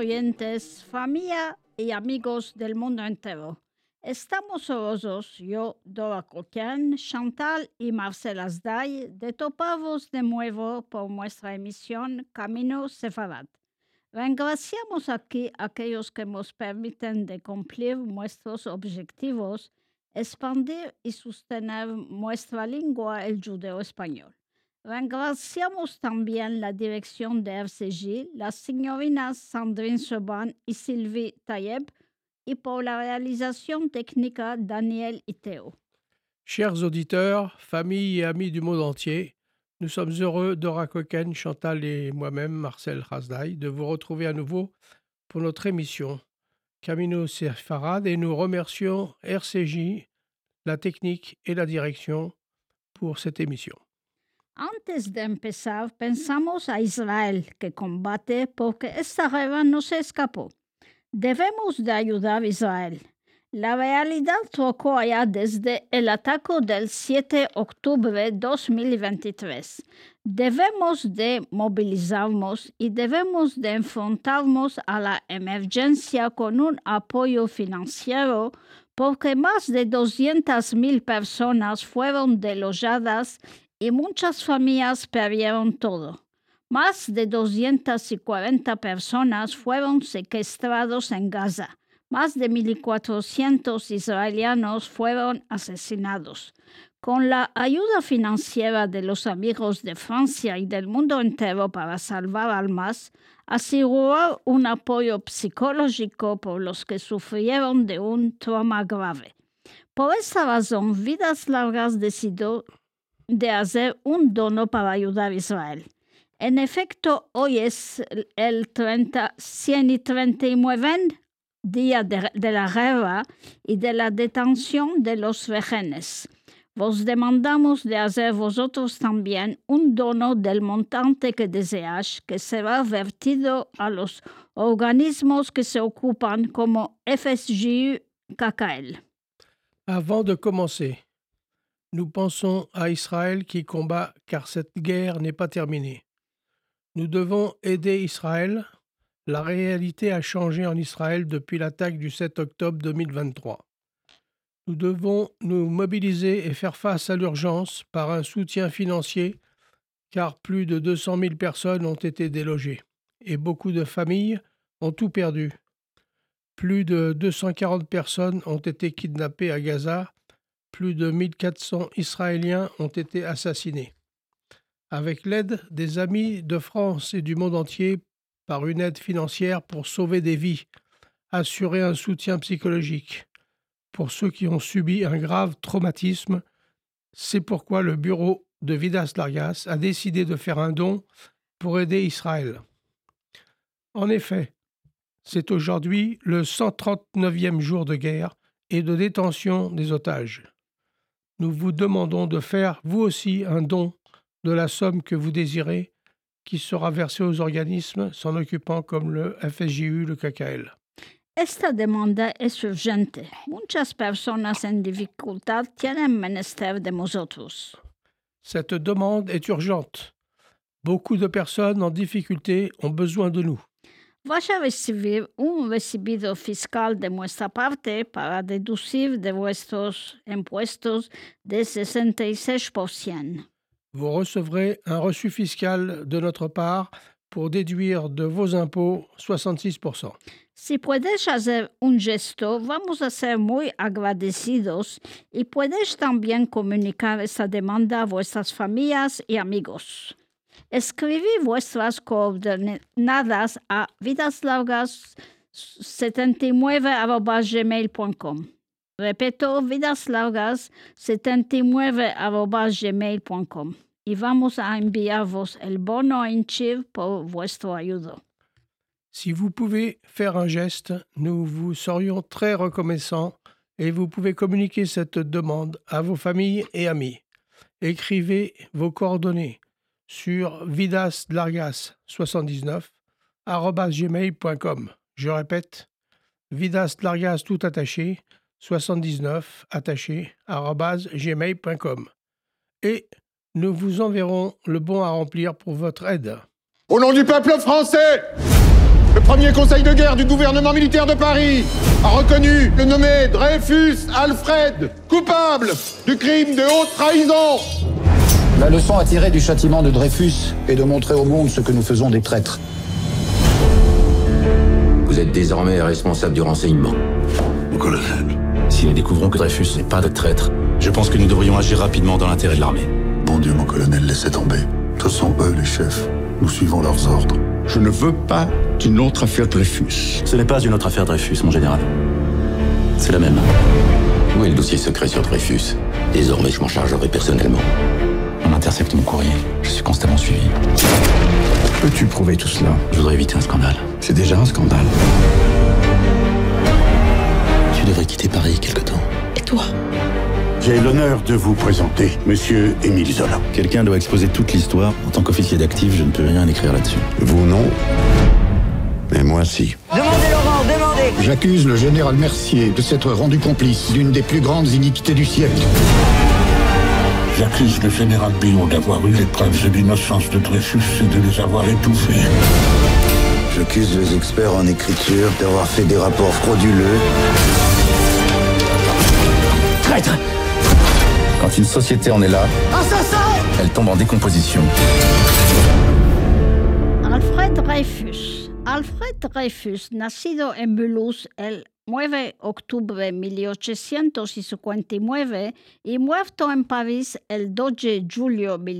oyentes, familia y amigos del mundo entero. Estamos orgullosos, yo, Dora Coquin, Chantal y Marcel Asday, de toparvos de nuevo por nuestra emisión Camino Sefarad. Regraciamos aquí a aquellos que nos permiten de cumplir nuestros objetivos, expandir y sostener nuestra lengua, el judeo-español. Regraciamos también la dirección de RCJ, las señorinas Sandrine Seban y Sylvie Tayeb, y por la réalisation technique Daniel et Théo. Chers auditeurs, familles et amis du monde entier, nous sommes heureux, Dora Coquin, Chantal et moi-même, Marcel Hasdai, de vous retrouver à nouveau pour notre émission Camino Sefarad et nous remercions RCJ, la technique et la direction pour cette émission. Antes de empezar, pensamos a Israel, que combate porque esta guerra no se escapó. Debemos de ayudar a Israel. La realidad tocó allá desde el ataque del 7 de octubre de 2023. Debemos de movilizarnos y debemos de enfrentarnos a la emergencia con un apoyo financiero porque más de 200,000 personas fueron desalojadas y muchas familias perdieron todo. Más de 240 personas fueron secuestrados en Gaza. Más de 1,400 israelianos fueron asesinados. Con la ayuda financiera de los amigos de Francia y del mundo entero para salvar almas, asegurar un apoyo psicológico por los que sufrieron de un trauma grave. Por esta razón, Vidas Largas decidió de hacer un dono para ayudar a Israel. En efecto, hoy es el 139 día de la guerra y de la detención de los rehenes. Vos demandamos de hacer vosotros también un dono del montante que deseáis, que será vertido a los organismos que se ocupan como FSJU KKL. Avant de commencer, nous pensons à Israël qui combat car cette guerre n'est pas terminée. Nous devons aider Israël. La réalité a changé en Israël depuis l'attaque du 7 octobre 2023. Nous devons nous mobiliser et faire face à l'urgence par un soutien financier car plus de 200 000 personnes ont été délogées et beaucoup de familles ont tout perdu. Plus de 240 personnes ont été kidnappées à Gaza. Plus de 1,400 Israéliens ont été assassinés. Avec l'aide des amis de France et du monde entier, par une aide financière pour sauver des vies, assurer un soutien psychologique pour ceux qui ont subi un grave traumatisme, c'est pourquoi le bureau de Vidas Largas a décidé de faire un don pour aider Israël. En effet, c'est aujourd'hui le 139e jour de guerre et de détention des otages. Nous vous demandons de faire, vous aussi, un don de la somme que vous désirez, qui sera versée aux organismes s'en occupant comme le FSJU, le KKL. Esta demanda es urgente. Muchas personas en dificultad tienen menester de nosotros. Cette demande est urgente. Beaucoup de personnes en difficulté ont besoin de nous. Vas a recibir un recibido fiscal de nuestra parte para deducir de vuestros impuestos de 66%. Vous recevrez un reçu fiscal de notre part pour déduire de vos impôts 66%. Si puedes hacer un gesto, vamos a ser muy agradecidos y puedes también comunicar esta demanda a vuestras familias y amigos. Escribid vuestras coordenadas a vidaslargas79@gmail.com. Repito, vidaslargas79@gmail.com. Y vamos a enviarvos el bono en Chiv por vuestro ayuda. Si vous pouvez faire un geste, nous vous serions très reconnaissants et vous pouvez communiquer cette demande à vos familles et amis. Écrivez vos coordonnées sur vidaslargas79@gmail.com. Je répète, vidaslargas tout attaché 79 attaché @gmail.com. Et nous vous enverrons le bon à remplir pour votre aide. Au nom du peuple français, le Premier conseil de guerre du gouvernement militaire de Paris a reconnu le nommé Dreyfus Alfred coupable du crime de haute trahison. La leçon à tirer du châtiment de Dreyfus est de montrer au monde ce que nous faisons des traîtres. Vous êtes désormais responsable du renseignement. Mon colonel. Si nous découvrons que Dreyfus n'est pas de traître, je pense que nous devrions agir rapidement dans l'intérêt de l'armée. Bon Dieu, mon colonel, laissez tomber. Ce sont eux les chefs. Nous suivons leurs ordres. Je ne veux pas d'une autre affaire Dreyfus. Ce n'est pas une autre affaire Dreyfus, mon général. C'est la même. Où est le dossier secret sur Dreyfus? Désormais, je m'en chargerai personnellement. On intercepte mon courrier. Je suis constamment suivi. Peux-tu prouver tout cela? Je voudrais éviter un scandale. C'est déjà un scandale. Tu devrais quitter Paris quelque temps. Et toi? J'ai l'honneur de vous présenter Monsieur Émile Zola. Quelqu'un doit exposer toute l'histoire. En tant qu'officier d'actif, je ne peux rien écrire là-dessus. Vous non, mais moi si. Demandez, Laurent, demandez! J'accuse le général Mercier de s'être rendu complice d'une des plus grandes iniquités du siècle. J'accuse le général Billot d'avoir eu les preuves de l'innocence de Dreyfus et de les avoir étouffées. J'accuse les experts en écriture d'avoir fait des rapports frauduleux. Traître! Quand une société en est là, elle tombe en décomposition. Alfred Dreyfus. Alfred Dreyfus, nacido en Mulhouse el 9 de octubre de 1859 y muerto en París el 2 de julio de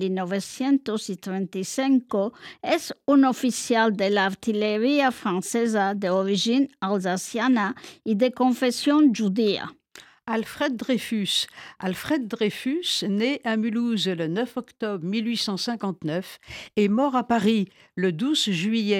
1935, es un oficial de la artillería francesa de origine alsaciana y de confesión judía. Alfred Dreyfus. Alfred Dreyfus, né à Mulhouse le 9 octobre 1859 et mort à Paris le 12 juillet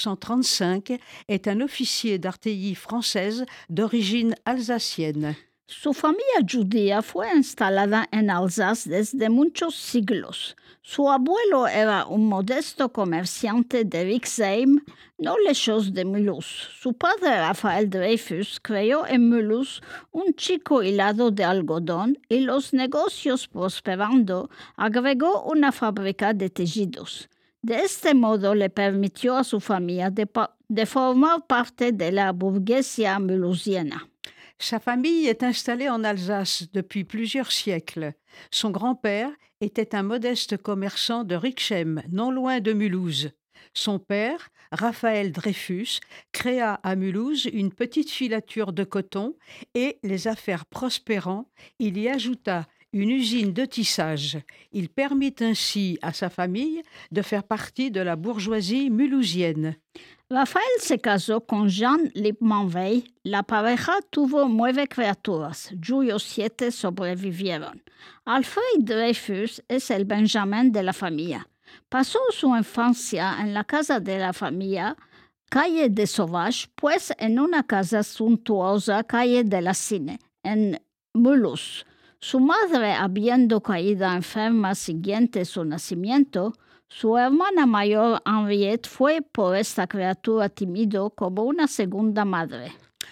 1935, est un officier d'artillerie française d'origine alsacienne. Su familia judía fue instalada en Alsace desde muchos siglos. Su abuelo era un modesto comerciante de Rixheim, no lejos de Mulhouse. Su padre, Rafael Dreyfus, creó en Mulhouse un chico hilado de algodón y los negocios prosperando, agregó una fábrica de tejidos. De este modo le permitió a su familia de formar parte de la burguesía mulhousiana. Sa famille est installée en Alsace depuis plusieurs siècles. Son grand-père était un modeste commerçant de Rixheim, non loin de Mulhouse. Son père, Raphaël Dreyfus, créa à Mulhouse une petite filature de coton et, les affaires prospérant, il y ajouta une usine de tissage. Il permit ainsi à sa famille de faire partie de la bourgeoisie mulhousienne. Rafael se casó con Jean Lippmann Wey. La pareja tuvo 9 criaturas, cuyos 7 sobrevivieron. Alfred Dreyfus es el Benjamin de la familia. Pasó su infancia en la casa de la familia, calle de Sauvage, pues en una casa suntuosa, calle de la Cine, en Mulhouse. Su madre, habiendo caído enferma siguiente su nacimiento, su hermana mayor Henriette fue por esta criatura tímido como una segunda madre.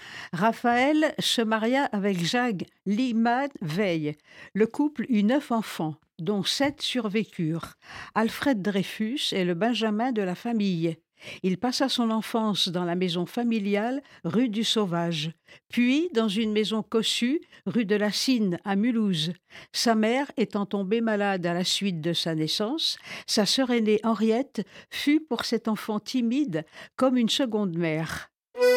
Raphaël se maria avec Jacques Lippmann Wey. Le couple eut 9 enfants, dont 7 survécurent. Alfred Dreyfus est le Benjamin de la famille. Il passa son enfance dans la maison familiale rue du Sauvage, puis dans une maison cossue rue de la Cine à Mulhouse. Sa mère étant tombée malade à la suite de sa naissance, sa sœur aînée Henriette fut pour cet enfant timide comme une seconde mère.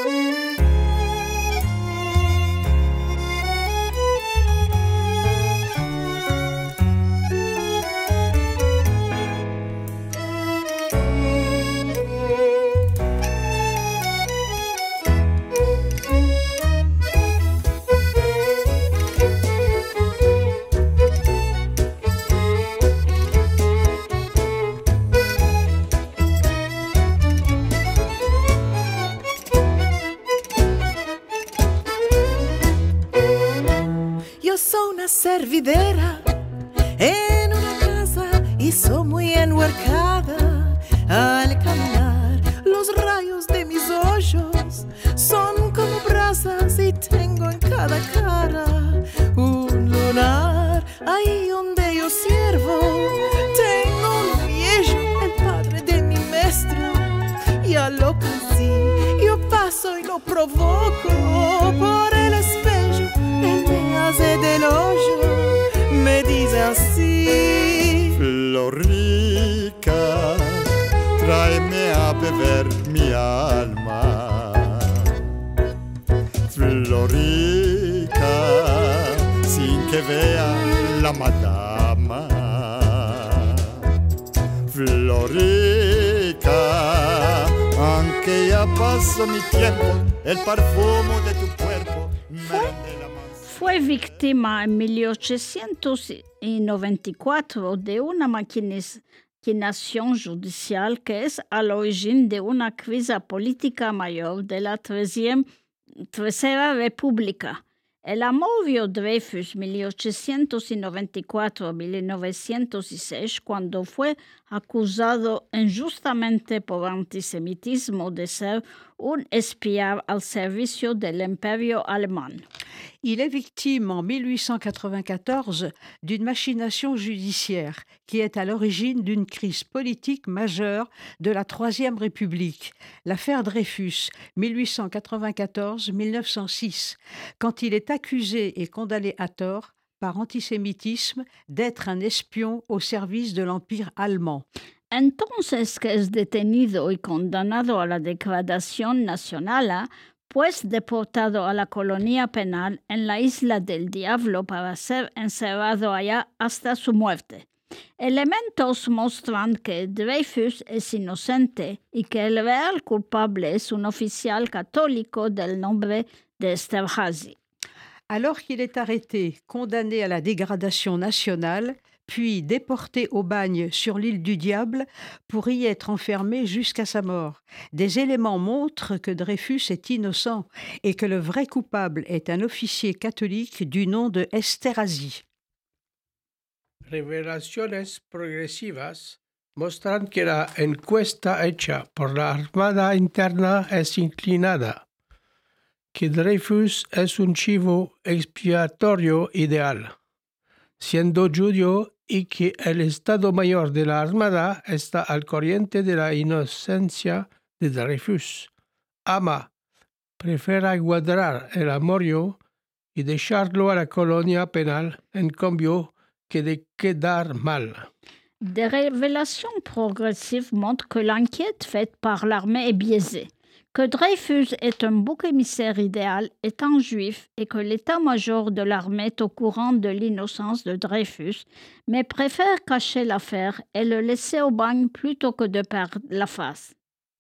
Servidera en una casa y soy muy enhuercada. Al caminar los rayos de mis ojos son como brasas y tengo en cada cara un lunar. Ahí donde yo sirvo tengo un viejo, el padre de mi maestro, y a lo que sí lo provoco por el espejo, él me hace del hoyo, me dice así: Florica, tráeme a beber mi alma. Florica, sin que vea la madama. Florica, aunque ya pasó mi tiempo, el perfume de tu cuerpo me rinde la mansión. Fue víctima en 1894 de una maquinación judicial que es al origen de una crisis política mayor de la Tercera República. El amovio Dreyfus 1894-1906, cuando fue acusado injustamente por antisemitismo de ser un espía al servicio del imperio alemán. Il est victime en 1894 d'une machination judiciaire qui est à l'origine d'une crise politique majeure de la Troisième République, l'affaire Dreyfus, 1894-1906, quand il est accusé et condamné à tort par antisémitisme d'être un espion au service de l'Empire allemand. Entonces que es detenido y condenado a la degradación nacional, pues deportado a la colonia penal en la Isla del Diablo para ser encerrado allá hasta su muerte. Elementos muestran que Dreyfus es inocente y que el real culpable es un oficial católico del nombre de Esterházy. Alors qu'il est arrêté, condamné à la dégradation nationale, puis déporté au bagne sur l'île du Diable pour y être enfermé jusqu'à sa mort. Des éléments montrent que Dreyfus est innocent et que le vrai coupable est un officier catholique du nom de Esterházy. Revelaciones progresivas muestran que la encuesta hecha por la Armada Interna es inclinada, que Dreyfus es un chivo expiatorio ideal, siendo judío, y que el Estado Mayor de la Armada está al corriente de la inocencia de Dreyfus. Ama prefiere guardar el amorio y dejarlo a la colonia penal, en cambio que de quedar mal. Des révélations progressives montrent que l'enquête faite par l'armée est biaisée, que Dreyfus est un bouc émissaire idéal étant juif et que l'état-major de l'armée est au courant de l'innocence de Dreyfus, mais préfère cacher l'affaire et le laisser au bagne plutôt que de perdre la face.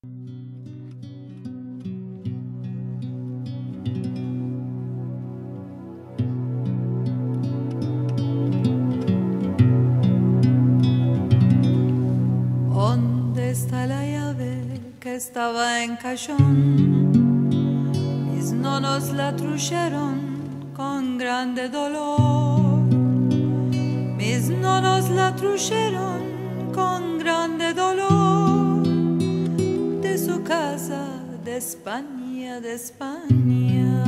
¿Dónde está la llave que estaba en cajón? Mis nonos la trujeron con grande dolor. Mis nonos la trujeron con grande dolor. De su casa de España, de España.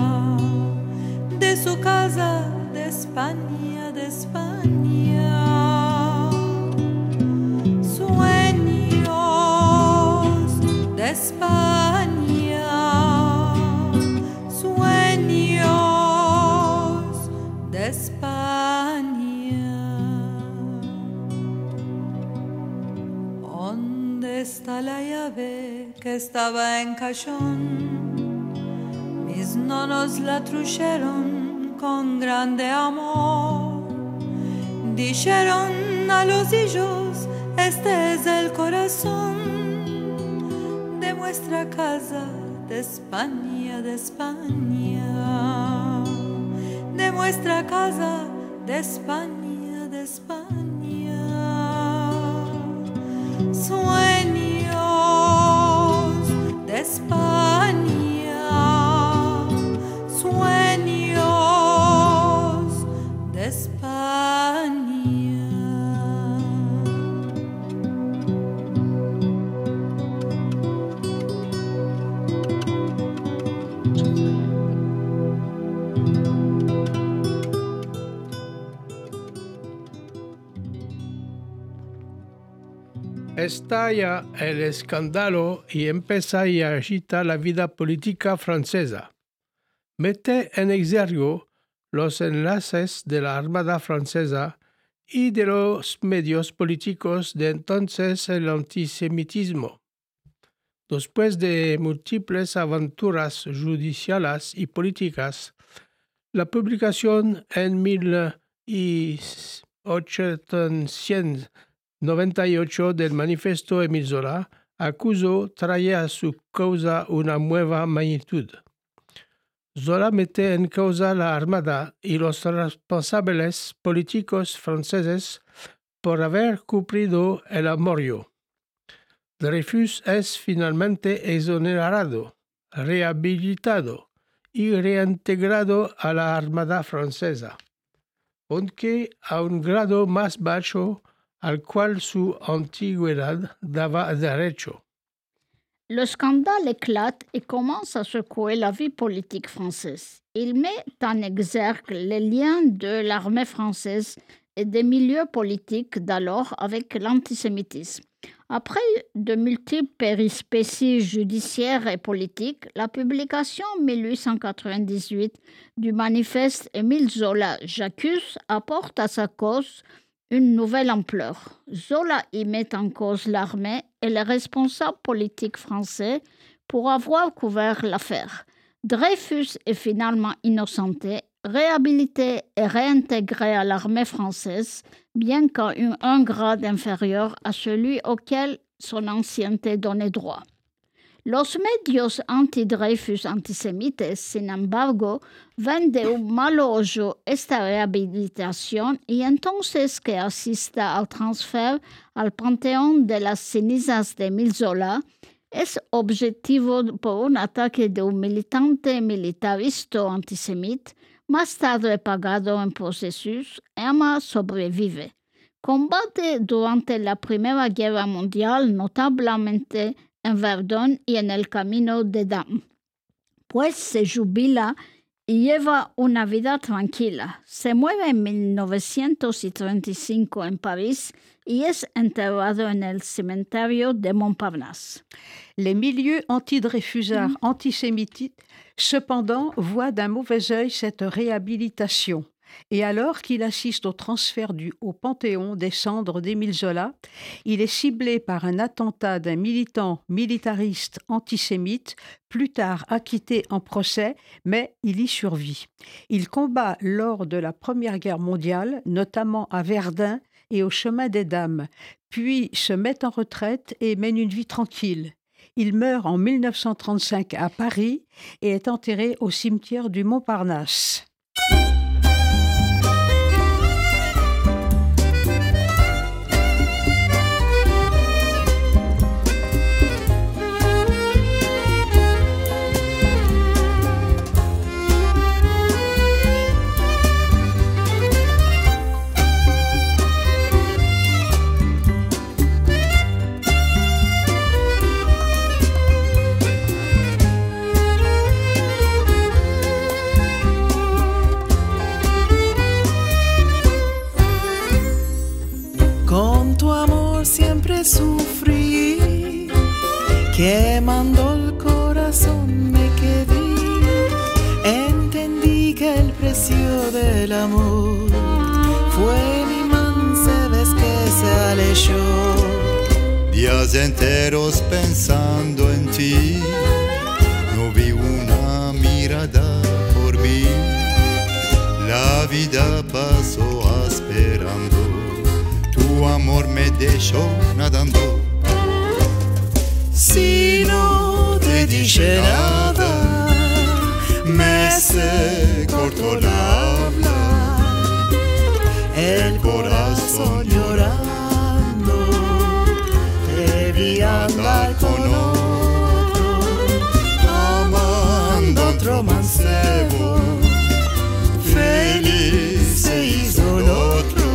De su casa de España, de España. De España, sueños de España. ¿Dónde está la llave que estaba en cajón? Mis nonos la trujeron con grande amor. Dijeron a los hijos, este es el corazón de nuestra casa de España, de España, de nuestra casa de España, de España. Sueños de España, sueños de España. estalla el escándalo y empieza y agita la vida política francesa. Mete en exergo los enlaces de la Armada francesa y de los medios políticos de entonces el antisemitismo. Después de múltiples aventuras judiciales y políticas, la publicación en 1898 del Manifiesto Émile Zola acusó traía a su causa una nueva magnitud. Zola mete en causa la Armada y los responsables políticos franceses por haber cumplido el amorio. Dreyfus es finalmente exonerado, rehabilitado y reintegrado a la Armada francesa, aunque a un grado más bajo al cual su antigüedad daba derecho. Le scandale éclate et commence à secouer la vie politique française. Il met en exergue les liens de l'armée française et des milieux politiques d'alors avec l'antisémitisme. Après de multiples péripéties judiciaires et politiques, la publication en 1898 du manifeste Émile Zola J'accuse apporte à sa cause une nouvelle ampleur. Zola y met en cause l'armée et les responsables politiques français pour avoir couvert l'affaire. Dreyfus est finalement innocenté, réhabilité et réintégré à l'armée française, bien qu'à un grade inférieur à celui auquel son ancienneté donnait droit. Los medios anti-Dreyfus antisemites, sin embargo, ven de un malo ojo esta rehabilitación y entonces que asista al transfer al panteón de las cenizas de Émile Zola, es objetivo por un ataque de un militante militarista antisemita, más tarde pagado en procesos. Emma sobrevive. Combate durante la Primera Guerra Mundial, notablemente en Verdun y en el Camino de Damme. Pues se jubila y lleva una vida tranquila. Se muere en 1935 en París y es enterrado en el cementerio de Montparnasse. Les milieux anti-Dreyfusards antisémites, cependant, voient d'un mauvais œil cette réhabilitation. Et alors qu'il assiste au transfert au Panthéon des cendres d'Émile Zola, il est ciblé par un attentat d'un militant militariste antisémite, plus tard acquitté en procès, mais il y survit. Il combat lors de la Première Guerre mondiale, notamment à Verdun et au Chemin des Dames, puis se met en retraite et mène une vie tranquille. Il meurt en 1935 à Paris et est enterré au cimetière du Montparnasse. Sufrí, quemando el corazón me quedé. Entendí que el precio del amor fue mi mansa vez que se alejó. Días enteros pensando en ti, no vi una mirada por mí. La vida pasó esperando, tu amor me dejó nadando. Si no te dije nada, me se cortó la habla, el corazón llorando, te vi andar con otro, amando otro mancebo, feliz se hizo el otro.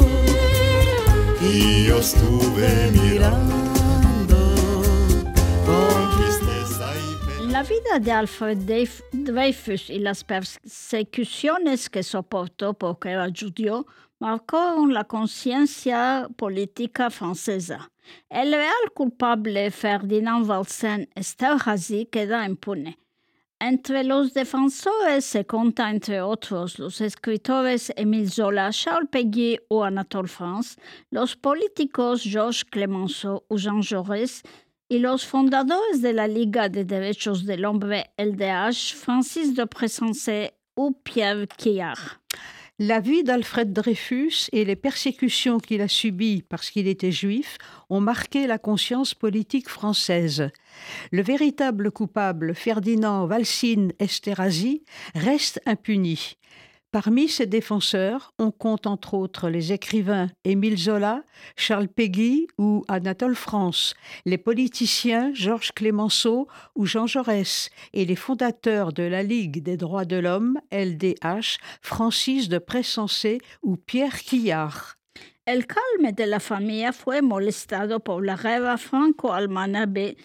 Y yo estuve mirando con tristeza y pena. La vida de Alfred Dreyfus y las persecuciones que soportó porque era judío marcaron la conciencia politica francesa. El real culpable Ferdinand Walsen Esterhazy queda impune. Entre los defensores se cuenta, entre otros, los escritores Émile Zola, Charles Péguy o Anatole France, los políticos Georges Clemenceau o Jean Jaurès y los fundadores de la Liga de Derechos del Hombre, LDH, Francis de Pressensé ou Pierre Quillard. La vie d'Alfred Dreyfus et les persécutions qu'il a subies parce qu'il était juif ont marqué la conscience politique française. Le véritable coupable, Ferdinand Walsin Esterhazy, reste impuni. Parmi ses défenseurs, on compte entre autres les écrivains Émile Zola, Charles Péguy ou Anatole France, les politiciens Georges Clemenceau ou Jean Jaurès et les fondateurs de la Ligue des droits de l'homme, LDH, Francis de Pressensé ou Pierre Quillard. El calme de la familia fue molestado por la guerra franco-alemana de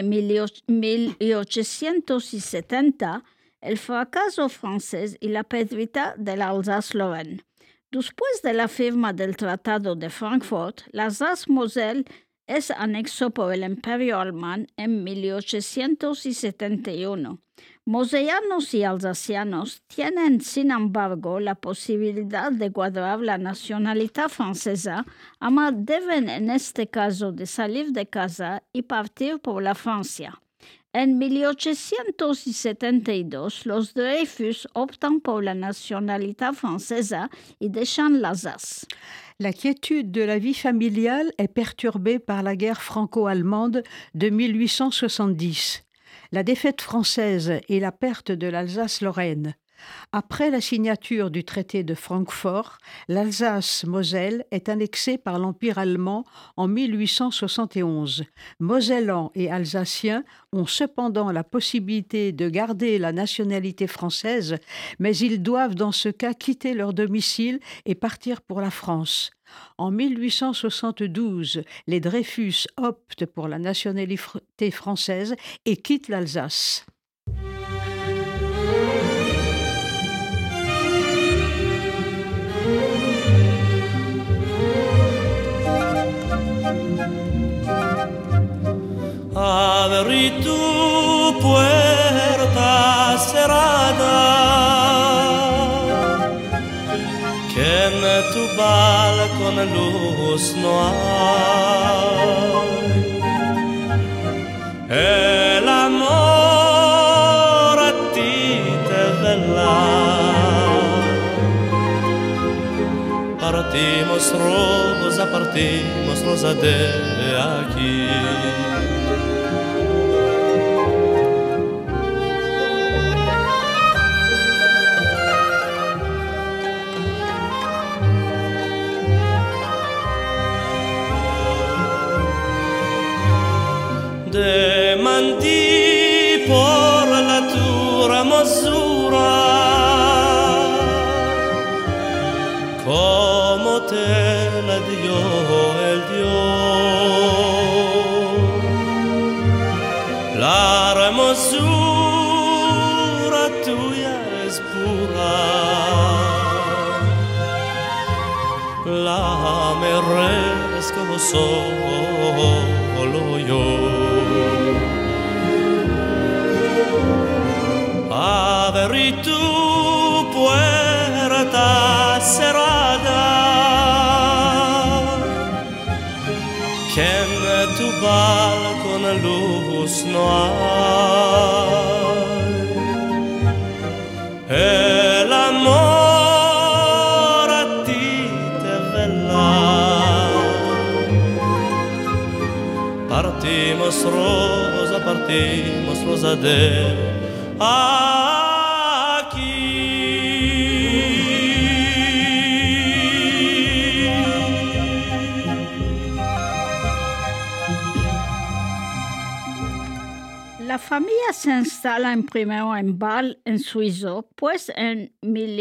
1870, el fracaso francés y la pérdida de la Alsace-Lorraine. Después de la firma del Tratado de Frankfurt, la Alsace-Moselle es anexo por el Imperio Alemán en 1871. Mosellanos y alsacianos tienen, sin embargo, la posibilidad de guardar la nacionalidad francesa, ama deben en este caso de salir de casa y partir por la Francia. En 1872, los Dreyfus optan por la nationalité francesa y dejan l'Alsace. La quiétude de la vie familiale est perturbée par la guerre franco-allemande de 1870, la défaite française et la perte de l'Alsace-Lorraine. Après la signature du traité de Francfort, l'Alsace-Moselle est annexée par l'Empire allemand en 1871. Mosellans et Alsaciens ont cependant la possibilité de garder la nationalité française, mais ils doivent dans ce cas quitter leur domicile et partir pour la France. En 1872, les Dreyfus optent pour la nationalité française et quittent l'Alsace. Abrí tu puerta cerrada, que en tu balcón luz no hay. El amor a ti te vela. Partimos rosa de aquí. Demandí por la tua hermosura, como te la dio el Dios. La hermosura tuya es pura, la merezco solo yo. Abrí tu puerta cerrada, que en tu balcón luz no hay. El amor a ti te vela. Partimos rosa de aquí. La familia se instala primero en Bâle, en Suiza, pues en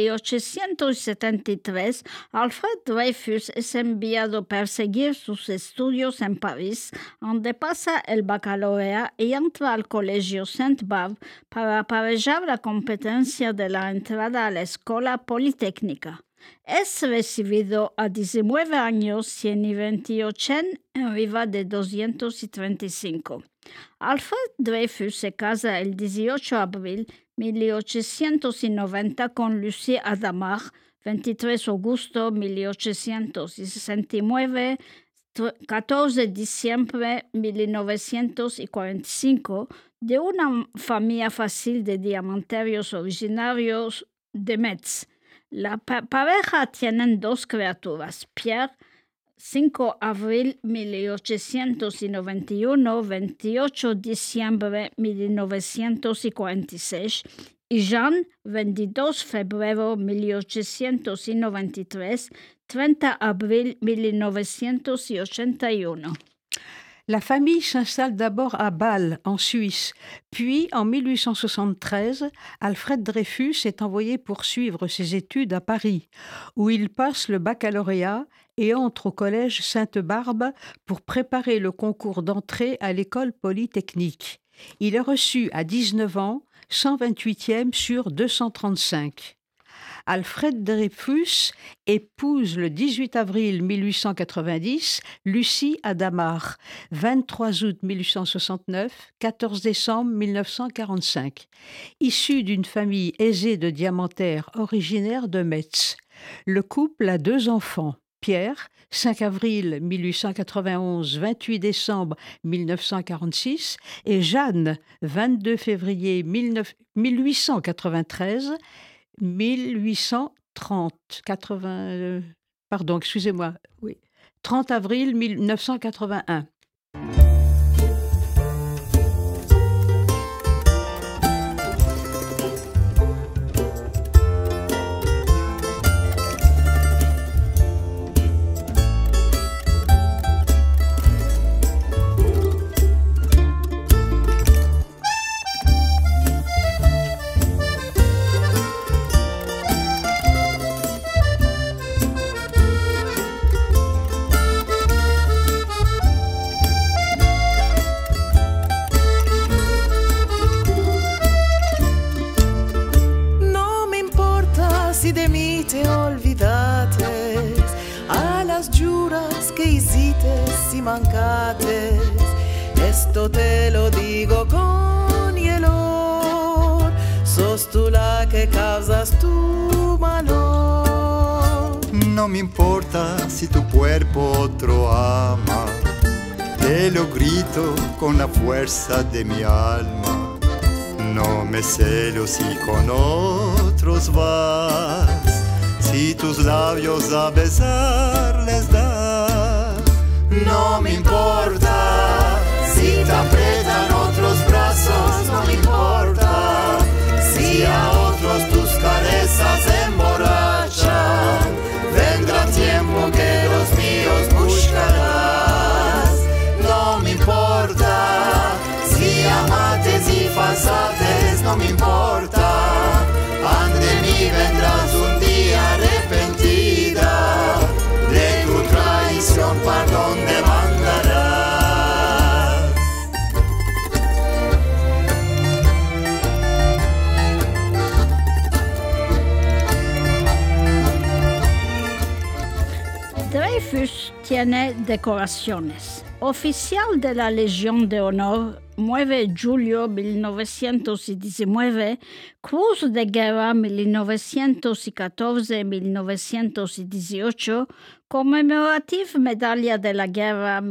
1873 Alfred Dreyfus es enviado a perseguir sus estudios en París, donde pasa el baccalaureat y entra al Colegio Sainte-Barbe para aparejar la competencia de la entrada a la Escuela Politécnica. Es recibido a 19 años y en 28 arriba de 235. Alfred Dreyfus se casa el 18 de abril de 1890 con Lucie Hadamard, 23 de agosto de 1869, 14 de diciembre de 1945, de una familia fácil de diamanterios originarios de Metz. La pareja tiene 2 criaturas, Pierre, 5 de abril de 1891, 28 de diciembre de 1946, y Jeanne, 22 de febrero de 1893, 30 de abril de 1981. La famille s'installe d'abord à Bâle, en Suisse. Puis, en 1873, Alfred Dreyfus est envoyé poursuivre ses études à Paris, où il passe le baccalauréat et entre au collège Sainte-Barbe pour préparer le concours d'entrée à l'école polytechnique. Il est reçu à 19 ans, 128e sur 235. Alfred Dreyfus épouse le 18 avril 1890 Lucie Hadamard, 23 août 1869, 14 décembre 1945. Issue d'une famille aisée de diamantaires originaire de Metz. Le couple a 2 enfants. Pierre, 5 avril 1891, 28 décembre 1946, et Jeanne, 22 février 1893, 30 avril 1981. te olvidates, a las juras que hiciste y mancates. Esto te lo digo con hielo, sos tú la que causas tu valor. No me importa si tu cuerpo otro ama, te lo grito con la fuerza de mi alma. No me celo si con otros vas, si tus labios a besar les das. No me importa si te aprietan otros brazos, no me importa si a otros tus carezas emborrachan. Vendrá tiempo que los míos buscarás. No me importa si amates y falsates, no me importa. Ante mí vendrás un día arrepentida, de tu traición perdón demandarás. Dreyfus tiene decoraciones. Oficial de la Legión de Honor, 9 de julio de 1919, Cruz de Guerra 1914-1918, Commemorative Medalla de la Guerra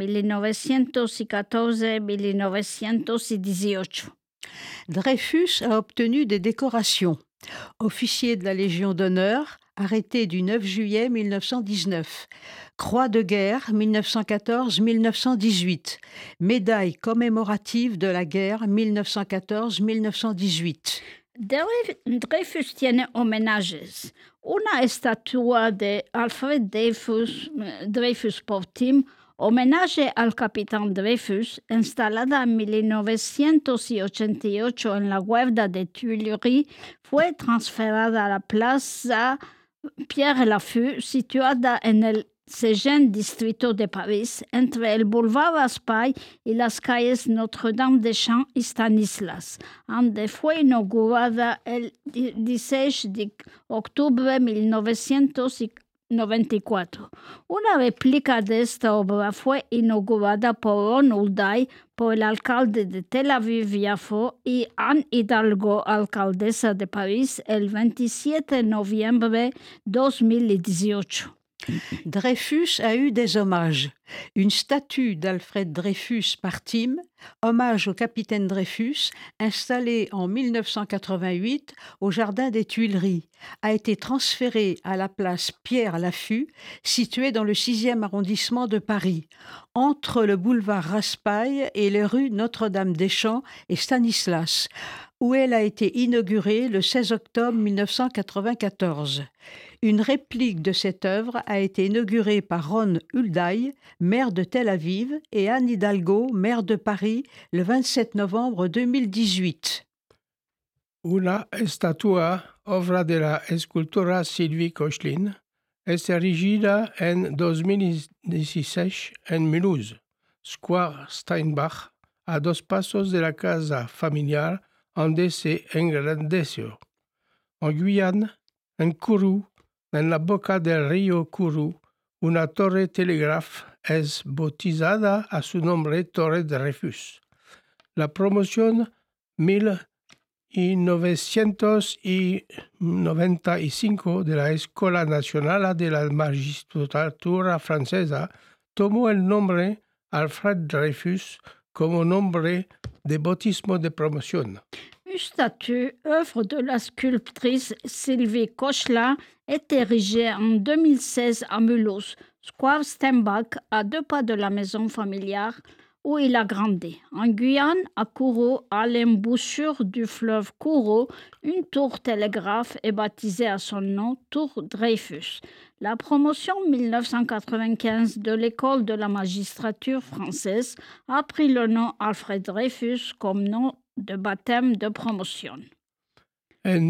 1914-1918. Dreyfus a obtenu des décorations. Officier de la Légion d'honneur, arrêté du 9 juillet 1919. Croix de guerre 1914-1918. Médaille commémorative de la guerre 1914-1918. Dreyfus tiene homenajes. Una estatua de Alfred Dreyfus por Tim, homenaje al capitán Dreyfus, instalada en 1988 en la huerta de Tuileries, fue transferida a la plaza Pierre Lafeu, situada en el seguint Distrito de París, entre el boulevard Raspail y las calles Notre-Dame des Champs y Stanislas, donde fue inaugurada el 16 de octubre de 1994. Una réplica de esta obra fue inaugurada por Ron Hulday, por el alcalde de Tel Aviv-Yafo y Anne Hidalgo, alcaldesa de París, el 27 de noviembre de 2018. Dreyfus a eu des hommages. Une statue d'Alfred Dreyfus par Tim, hommage au capitaine Dreyfus, installée en 1988 au Jardin des Tuileries, a été transférée à la place Pierre-Laffut, située dans le 6e arrondissement de Paris, entre le boulevard Raspail et les rues Notre-Dame-des-Champs et Stanislas, où elle a été inaugurée le 16 octobre 1994. Une réplique de cette œuvre a été inaugurée par Ron Hulday, maire de Tel Aviv, et Anne Hidalgo, maire de Paris, le 27 novembre 2018. Una estatua, obra de la escultora Sylvie Kochlin, es erigida en 2016 en Mulhouse, Square Steinbach, a 2 pasos de la casa familiar donde se engrandeció. En Guyane, en Kourou, en la boca del río Kourou, una torre telegraph es bautizada a su nombre Torre Dreyfus. La promoción 1995 de la Escuela Nacional de la Magistratura Francesa tomó el nombre Alfred Dreyfus como nombre de bautismo de promoción. Une statue, œuvre de la sculptrice Sylvie Kochlin, est érigée en 2016 à Mulhouse, Square Steinbach, à 2 pas de la maison familiale où il a grandi. En Guyane, à Kourou, à l'embouchure du fleuve Kourou, une tour télégraphe est baptisée à son nom, Tour Dreyfus. La promotion 1995 de l'école de la magistrature française a pris le nom Alfred Dreyfus comme nom de baptême de promotion. En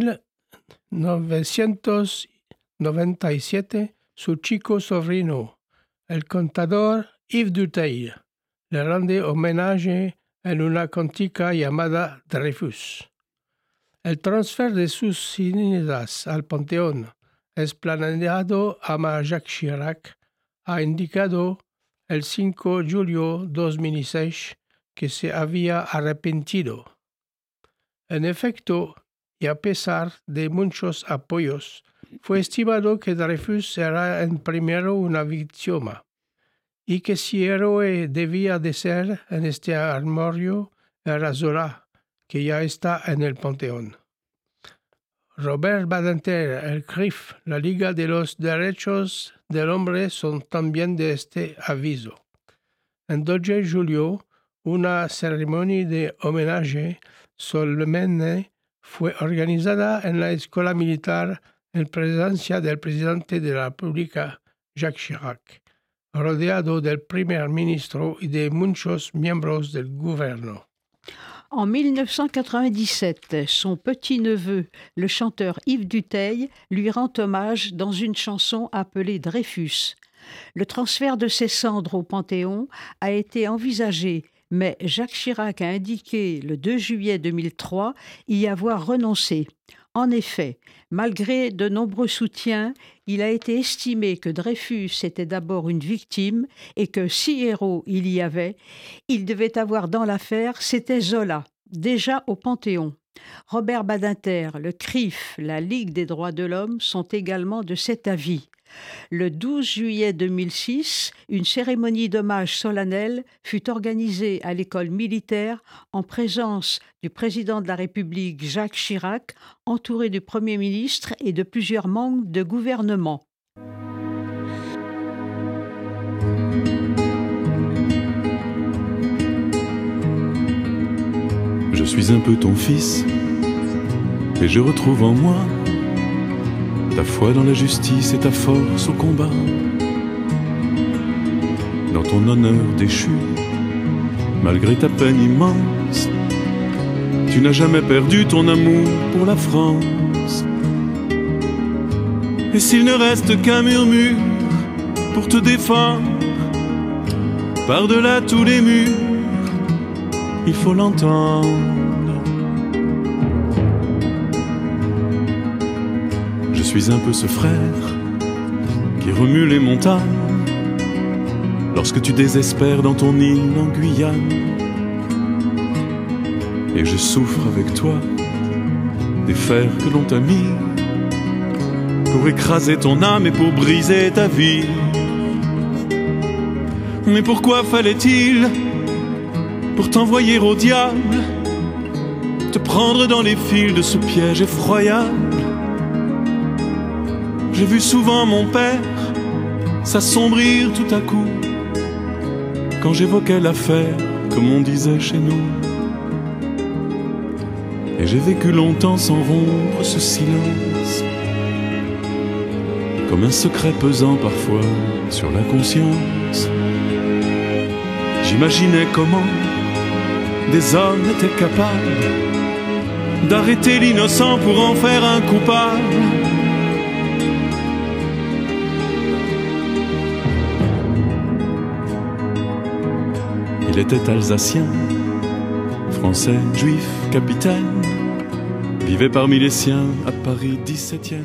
1997, su chico sobrino, el contador Yves Duteil, le rende homenaje en una cantica llamada Dreyfus. El transfer de sus cenizas al Panteón, planeado a Jacques Chirac, ha indicado el 5 de julio de 2006 que se había arrepentido. En efecto, y a pesar de muchos apoyos, fue estimado que Dreyfus era en primero una víctima, y que si héroe debía de ser en este armario era Zola, que ya está en el Panteón. Robert Badinter, el CRIF, la Liga de los Derechos del Hombre son también de este aviso. En 2 de julio, una ceremonia de homenaje solemne fue organizada en la Escuela Militar en presencia del presidente de la República, Jacques Chirac, rodeado del primer ministro y de muchos miembros del gouvernement. En 1997, son petit-neveu, le chanteur Yves Duteil, lui rend hommage dans une chanson appelée Dreyfus. Le transfert de ses cendres au Panthéon a été envisagé, mais Jacques Chirac a indiqué le 2 juillet 2003 y avoir renoncé. En effet, malgré de nombreux soutiens, il a été estimé que Dreyfus était d'abord une victime et que si héros il y avait, il devait avoir dans l'affaire, c'était Zola, déjà au Panthéon. Robert Badinter, le CRIF, la Ligue des droits de l'homme sont également de cet avis. Le 12 juillet 2006, une cérémonie d'hommage solennel fut organisée à l'école militaire en présence du président de la République Jacques Chirac, entouré du Premier ministre et de plusieurs membres de gouvernement. Je suis un peu ton fils, et je retrouve en moi ta foi dans la justice et ta force au combat. Dans ton honneur déchu, malgré ta peine immense, tu n'as jamais perdu ton amour pour la France. Et s'il ne reste qu'un murmure pour te défendre. Par-delà tous les murs, il faut l'entendre. Je suis un peu ce frère qui remue les montagnes lorsque tu désespères dans ton île en Guyane. Et je souffre avec toi des fers que l'on t'a mis pour écraser ton âme et pour briser ta vie. Mais pourquoi fallait-il, pour t'envoyer au diable, te prendre dans les fils de ce piège effroyable? J'ai vu souvent mon père s'assombrir tout à coup quand j'évoquais l'affaire, comme on disait chez nous. Et j'ai vécu longtemps sans rompre ce silence, comme un secret pesant parfois sur la conscience. J'imaginais comment des hommes étaient capables d'arrêter l'innocent pour en faire un coupable. Il était alsacien, français, juif, capitaine, vivait parmi les siens à Paris 17e.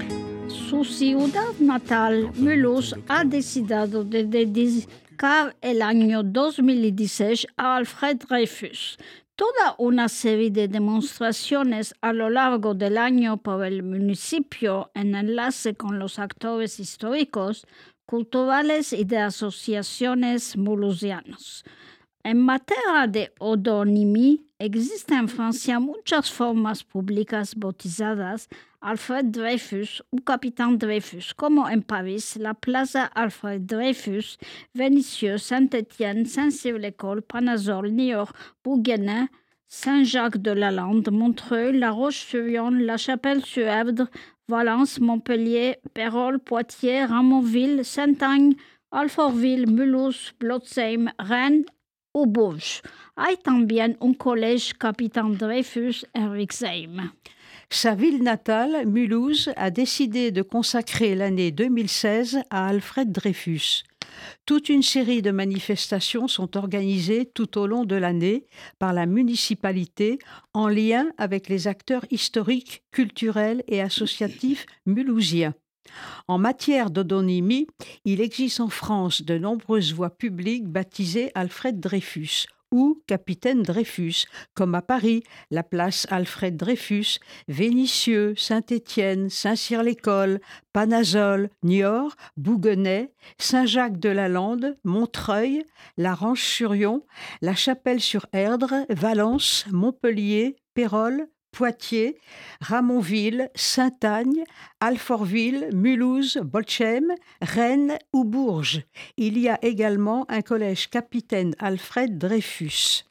Su ciudad natal, Mulhouse ha decidido de dedicar el año 2016 a Alfred Dreyfus. Toda una serie de demostraciones a lo largo del año por el municipio en enlace con los actores históricos, culturales y de asociaciones mulhousianos. En materia de odonimia, existen en Francia muchas formas públicas bautizadas Alfred Dreyfus o Capitán Dreyfus, como en París, la Plaza Alfred Dreyfus, Vénissieux, Saint-Étienne, Saint-Cyr-l'École, Panazol, Niort, Bourguenin, Saint-Jacques-de-la-Lande, Montreuil, La Roche-sur-Yon, La Chapelle-sur-Erdre, Valence, Montpellier, Pérols, Poitiers, Ramonville, Saint-Agne, Alfortville, Mulhouse, Blotzheim, Rennes ou Bourges. Hay también un collège Capitán Dreyfus en Rixheim. Sa ville natale, Mulhouse, a décidé de consacrer l'année 2016 à Alfred Dreyfus. Toute une série de manifestations sont organisées tout au long de l'année par la municipalité en lien avec les acteurs historiques, culturels et associatifs mulhousiens. En matière d'odonymie, il existe en France de nombreuses voies publiques baptisées Alfred Dreyfus ou Capitaine Dreyfus, comme à Paris, la place Alfred Dreyfus, Vénissieux, Saint-Étienne, Saint-Cyr-l'École, Panazol, Niort, Bouguenais, Saint-Jacques-de-la-Lande, Montreuil, La Roche-sur-Yon, La Chapelle-sur-Erdre, Valence, Montpellier, Pérols, Poitiers, Ramonville, Saint-Agne, Alfortville, Mulhouse, Blotzheim, Rennes ou Bourges. Il y a également un collège Capitaine Alfred Dreyfus.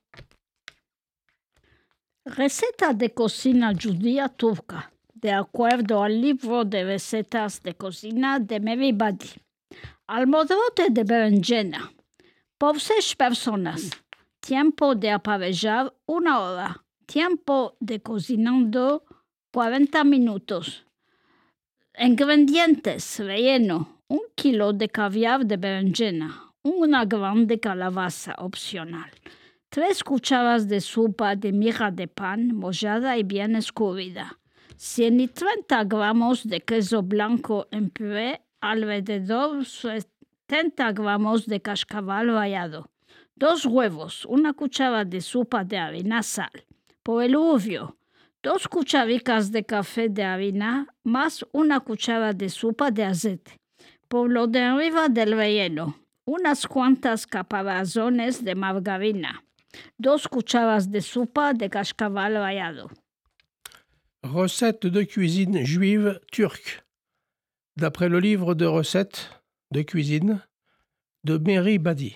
Receta de cocina judía turca, de acuerdo al libro de recetas de cocina de Mary Badi. Almorote de berenjena. Por 6 personas. Tiempo de aparellar 1 hora. Tiempo de cocinando 40 minutos. Ingredientes: relleno, 1 kilo de caviar de berenjena, una grande calabaza opcional, 3 cucharas de sopa de miga de pan mollada y bien escurrida, 130 gramos de queso blanco en puré, alrededor 70 gramos de cascabel rallado, 2 huevos, 1 cuchara de sopa de harina, sal. Por el obvio, 2 cucharicas de café de harina más 1 cuchara de sopa de aceite. Por lo de arriba del relleno, unas cuantas caparazones de margarina, 2 cucharas de sopa de cascabel rallado. Recettes de cuisine juive turque, d'après le livre de recettes de cuisine de Mary Badi.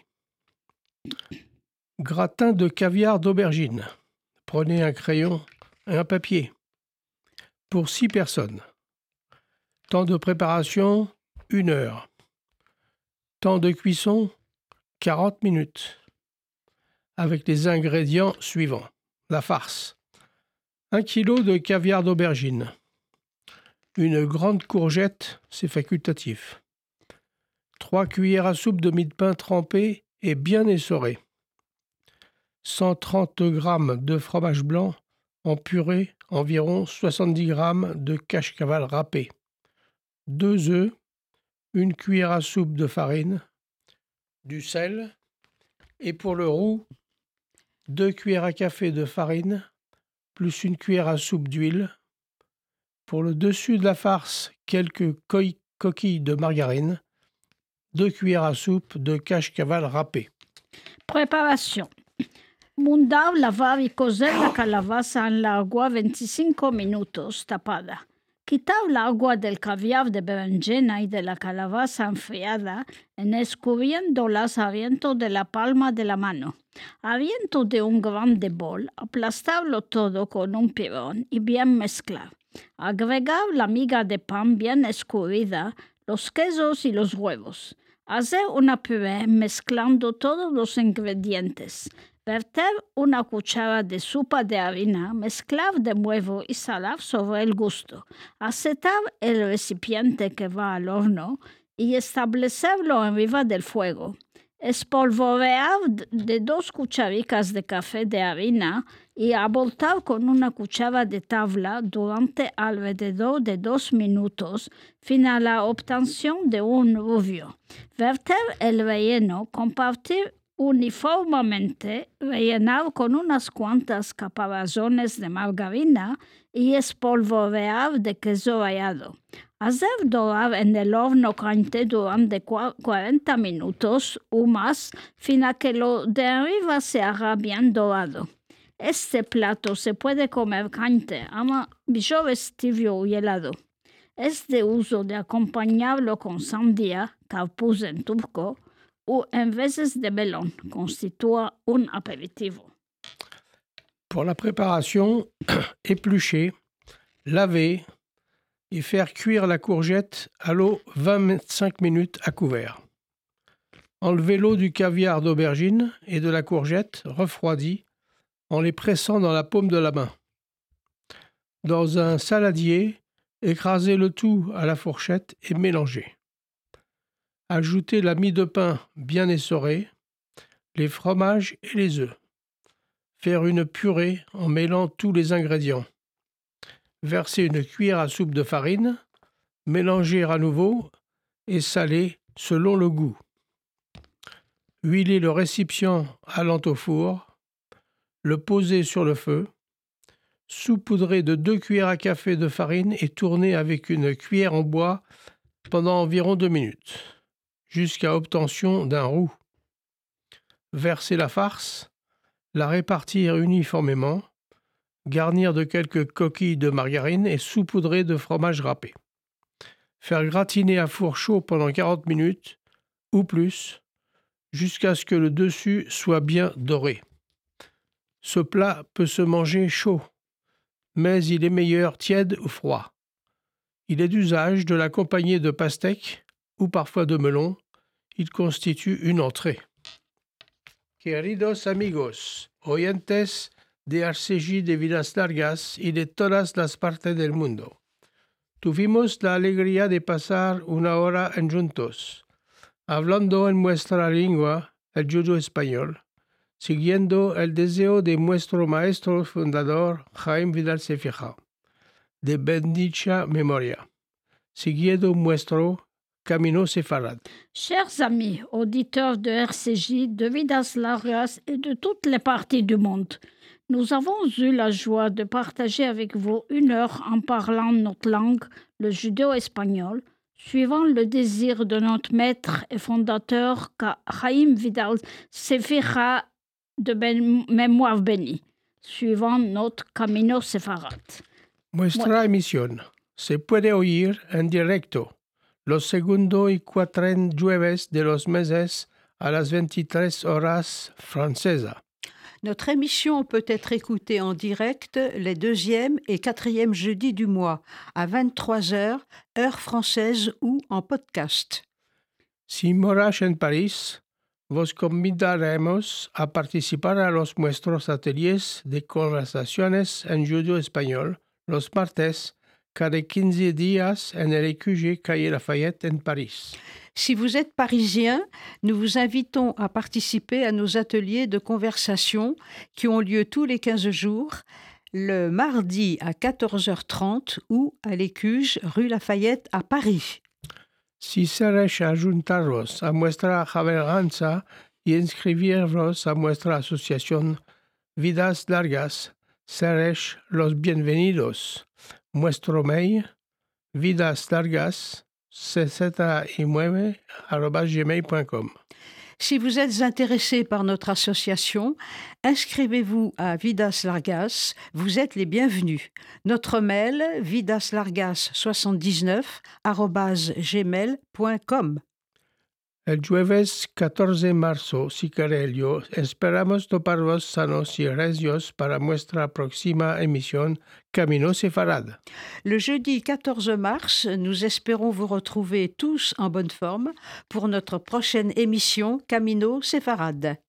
Gratin de caviar d'aubergine. Prenez un crayon et un papier. Pour 6 personnes. Temps de préparation, 1 heure. Temps de cuisson, 40 minutes. Avec les ingrédients suivants. La farce. 1 kilo de caviar d'aubergine. Une grande courgette, c'est facultatif. 3 cuillères à soupe de mie de pain trempé et bien essoré. 130 g de fromage blanc en purée, environ 70 g de cache-caval râpé. 2 œufs, 1 cuillère à soupe de farine, du sel et pour le roux, 2 cuillères à café de farine plus 1 cuillère à soupe d'huile. Pour le dessus de la farce, quelques coquilles de margarine, 2 cuillères à soupe de cache-caval râpé. Preparación. Mundar, lavar y cocer la calabaza en la agua 25 minutos tapada. Quitar el agua del caviar de berenjena y de la calabaza enfriada en escurriéndolas a viento de la palma de la mano. A viento de un grande bol, aplastarlo todo con un pirón y bien mezclar. Agregar la miga de pan bien escurrida, los quesos y los huevos. Hacer una puré mezclando todos los ingredientes. Verter una cuchara de sopa de harina, mezclar de nuevo y salar sobre el gusto. Asetar el recipiente que va al horno y establecerlo arriba del fuego. Espolvorear de 2 cucharicas de café de harina y aboltar con una cuchara de tabla durante alrededor de 2 minutos, fin a la obtención de un rubio. Verter el relleno, compartir uniformemente, rellenar con unas cuantas caparazones de margarina y espolvorear de queso rallado. Hacer dorar en el horno caliente durante 40 minutos o más, fin a que lo de arriba se haga bien dorado. Este plato se puede comer caliente, ama mejores tibio y helado. Es de uso de acompañarlo con sandía, carpuz en turco, ou en veces de melón, constitue un aperitivo. Pour la préparation, éplucher, laver et faire cuire la courgette à l'eau 25 minutes à couvert. Enlevez l'eau du caviar d'aubergine et de la courgette refroidie en les pressant dans la paume de la main. Dans un saladier, écrasez le tout à la fourchette et mélangez. Ajoutez la mie de pain bien essorée, les fromages et les œufs. Faire une purée en mêlant tous les ingrédients. Verser une cuillère à soupe de farine, mélanger à nouveau et saler selon le goût. Huiler le récipient allant au four, le poser sur le feu, saupoudrer de 2 cuillères à café de farine et tourner avec une cuillère en bois pendant environ 2 minutes. Jusqu'à obtention d'un roux. Verser la farce, la répartir uniformément, garnir de quelques coquilles de margarine et saupoudrer de fromage râpé. Faire gratiner à four chaud pendant 40 minutes ou plus, jusqu'à ce que le dessus soit bien doré. Ce plat peut se manger chaud, mais il est meilleur tiède ou froid. Il est d'usage de l'accompagner de pastèques ou parfois de melon, il constitue une entrée. Queridos amigos, oyentes de RCJ de Vidas Largas y de todas las partes del mundo, tuvimos la alegría de pasar una hora en juntos, hablando en nuestra lengua, el judo español, siguiendo el deseo de nuestro maestro fundador Jaime Vidal Cefixa, de bendita memoria, siguiendo nuestro Camino Sefarad. Chers amis, auditeurs de RCJ, de Vidas Largas et de toutes les parties du monde, nous avons eu la joie de partager avec vous 1 heure en parlant notre langue, le judéo-espagnol, suivant le désir de notre maître et fondateur Jaime Vidal Cefixa de mémoire bénie, suivant notre Camino Sefarad. Nuestra emisión se puede oír en directo los segundo y cuatren jueves de los meses a las 23 horas francesa. Notre émission peut être écoutée en direct les 2e et 4e jeudis du mois à 23h, heure française ou en podcast. Si moras en París, vos convidaremos a participar a los nuestros ateliers de conversaciones en judo español los martes cada 15 días en el EQG Calle Lafayette en Paris. Si vous êtes parisien, nous vous invitons à participer à nos ateliers de conversation qui ont lieu tous les 15 jours, le mardi à 14h30 ou à l'Écuge, rue Lafayette à Paris. Si queréis ajuntaros a nuestra avenganza y inscribiros a nuestra asociación Vidas Largas, seréis los bienvenidos. Nuestro mail, vidaslargas69@gmail.com. Si vous êtes intéressé par notre association, inscrivez-vous à Vidas Largas, vous êtes les bienvenus. Notre mail, vidaslargas79@gmail.com. El jueves 14 de marzo, si queréis, esperamos toparos sanos y regios para nuestra próxima emisión Camino Sefarad. Le jeudi 14 mars, nous espérons vous retrouver tous en bonne forme pour notre prochaine émission Camino Sefarad.